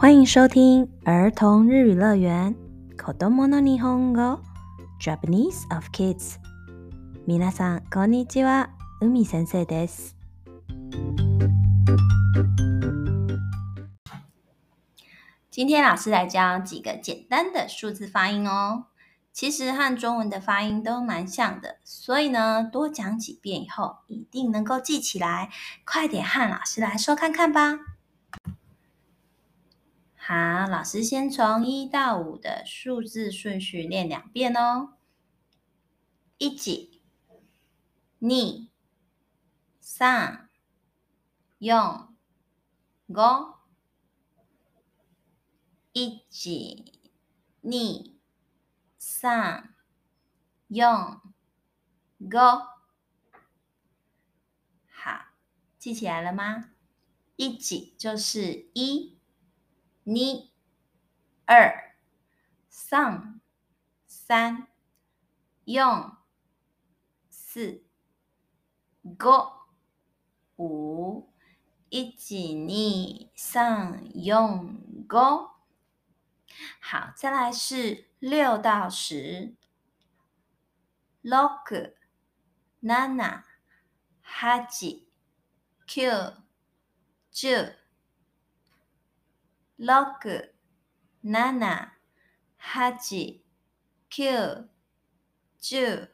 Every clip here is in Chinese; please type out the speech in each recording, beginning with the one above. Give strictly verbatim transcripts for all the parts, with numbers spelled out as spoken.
歡迎收聽兒童日語樂園子供の日本語 Japanese of Kids。皆さんこんにちは、海先生です。今天老師來教幾個簡單的數字發音哦。其實和中文的發音都蠻像的，所以呢，多講幾遍以後，一定能夠記起來。快點和老師來說看看吧。好，老師先從一到五的數字順序練兩遍哦。一、二、三、四、五。一、二、三、四、五。好，記起來了嗎？一就是一。二、三、三、四、五、五。一、二、三、四、五。好，再來是六到十。六、七、八、九、十。六、七、八、九、十。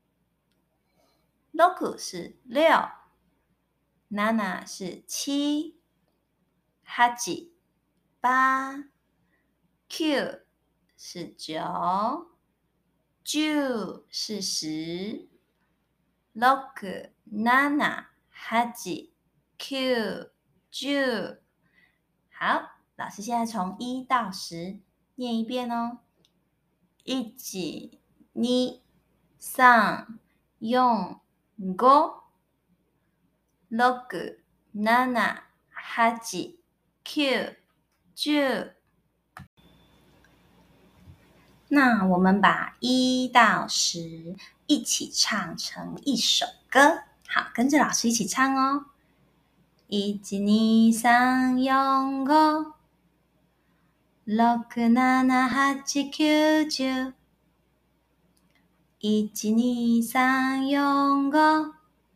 六是六，七是七，八、八、九是九，十是十。六、七、八、九、十。好，老師現在從一到十念一遍哦。一、二、三、四、五。六、七、八、九、十。那我們把一到十一起唱成一首歌，好，跟着老師一起唱哦。一、二、三、四、五。六、七、八、九、十。一、二、三、四、五。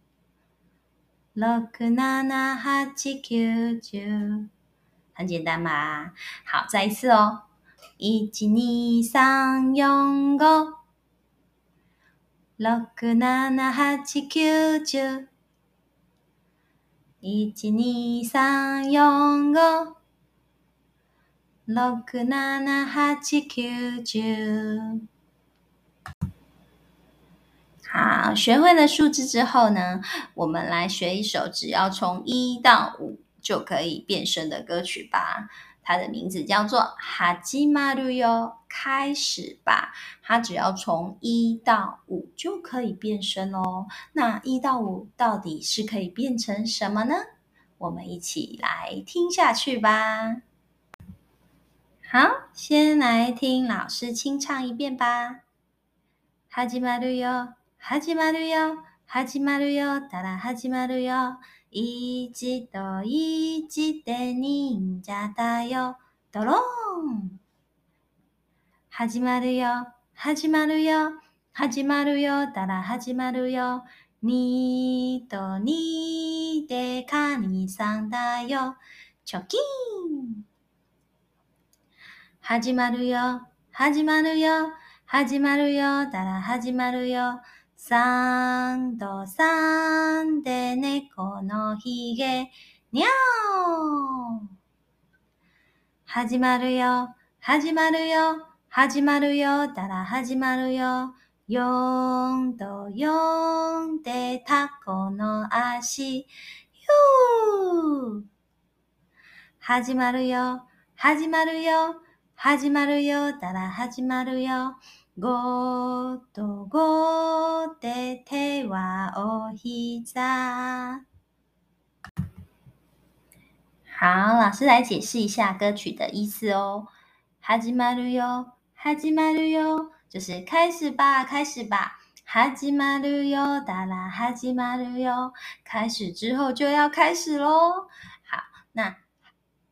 六、七、八、九、十。很簡單吧？好，再一次哦。一、二、三、四、五。六、七、八、九、十。一、二、三、四、五。六、七、八、九、十。好，學會了數字之後呢，我們來學一首只要從一到五就可以變聲的歌曲吧。它的名字叫做《始まるよ》，開始吧。它只要從一到五就可以變聲哦。那一到五到底是可以變成什麼呢？我們一起來聽下去吧。好，先來聽老師清唱一遍吧。始まるよ。始まるよ、始まるよ、ただ始まるよ。一と一で忍者だよ、ドローン。始まるよ、始まるよ、始まるよ、ただ始まるよ。二と二でカニさんだよ、チョキン。始まるよ、始まるよ、始まるよ、ただ始まるよ。三と三で猫のひげ、にゃお。始まるよ、始まるよ、始まるよ、たら始まるよ。四と四でタコの足、ゆー。始まるよ、始まるよ、始まるよ、たら始まるよ。五と五で手はお膝。好，老師來解釋一下歌曲的意思哦。始まるよ、始まるよ，就是開始吧，開始吧。始まるよ、だら始まるよ，開始之後就要開始咯。好，那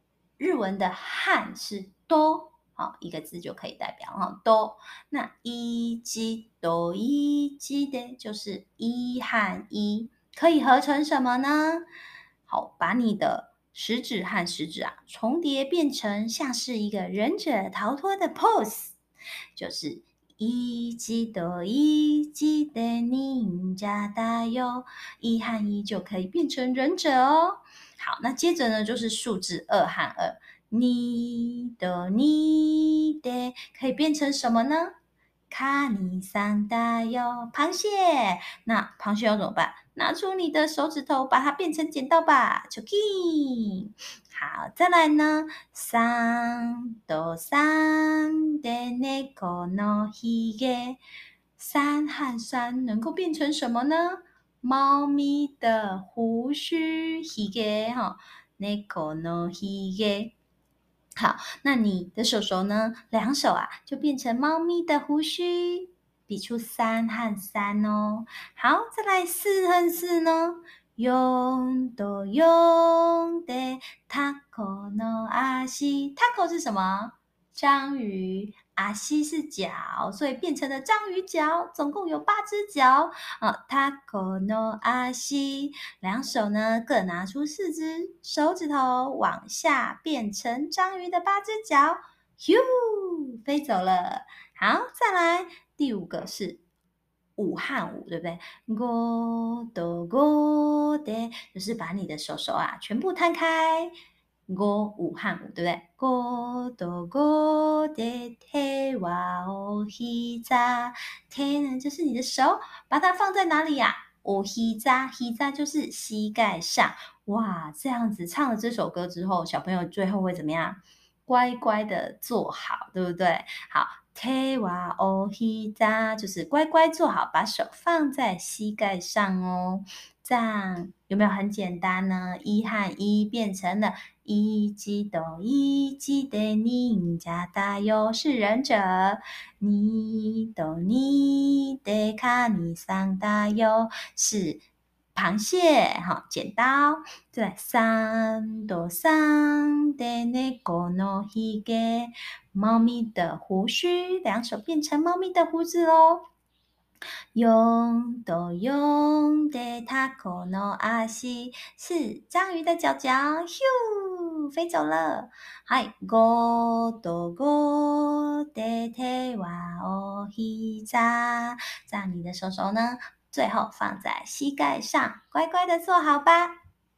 日文的漢是多，好，一個字就可以代表哈多。那一吉多一吉的就是一和一，可以合成什麼呢？好，把你的食指和食指啊重疊，變成像是一個忍者逃脫的 pose， 就是一吉多一吉的忍者だよ，一和一就可以變成忍者哦。好，那接着呢就是數字二和二，你的你的可以變成什麼呢？卡尼桑大喲，螃蟹。那螃蟹要怎麼辦？拿出你的手指頭，把它變成剪刀吧，チョキ。好，再來呢，三と三で猫のひげ，三和三能夠變成什麼呢？貓咪的鬍鬚，ひげ哈，猫のひげ。好，那你的手手呢？兩手啊，就變成貓咪的鬍鬚，比出三和三哦。好，再來四和四呢？四と四でタコの足，タコ是什麼？章魚。阿西是腳，所以變成了章魚腳，總共有八隻腳啊。タコの足，兩手呢各拿出四隻手指頭，往下變成章魚的八隻腳，咻，飛走了。好，再來第五個是五和五，對不對？五と五で，就是把你的手手啊全部攤開。五五和五，對不對？五と五で手はお膝，手呢就是你的手，把它放在哪裡呀？お膝，膝就是膝蓋上。哇，這樣子唱了這首歌之後，小朋友最後會怎麼樣？乖乖的坐好，對不對？好，手はお膝就是乖乖坐好，把手放在膝蓋上哦。這樣有沒有很簡單呢？一和一變成了一吉多一吉的忍者だよ，是忍者。二と二でカニさんだよ，是螃蟹。好，剪刀。對，三と三で猫のひげ，貓咪的鬍鬚，兩手變成貓咪的鬍子咯。四と四でタコの足，是章魚的腳腳，咻，飛走了。はい、五と五で手はお膝，這樣你的手手呢，最後放在膝蓋上，乖乖的坐好吧。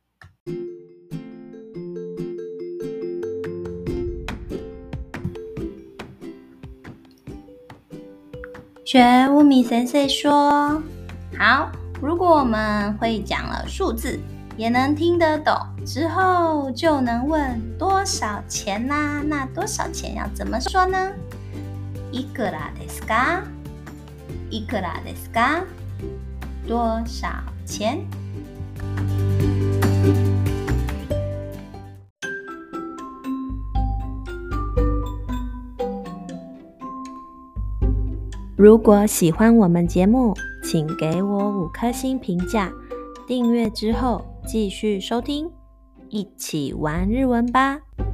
學烏米先生說，好，如果我們會講了數字，也能聽得懂，之後就能問多少錢啦。那多少錢要怎麼說呢？いくらですか？いくらですか？多少錢？如果喜歡我們節目，請給我五顆星評價，訂閱之後繼續收聽，一起玩日文吧。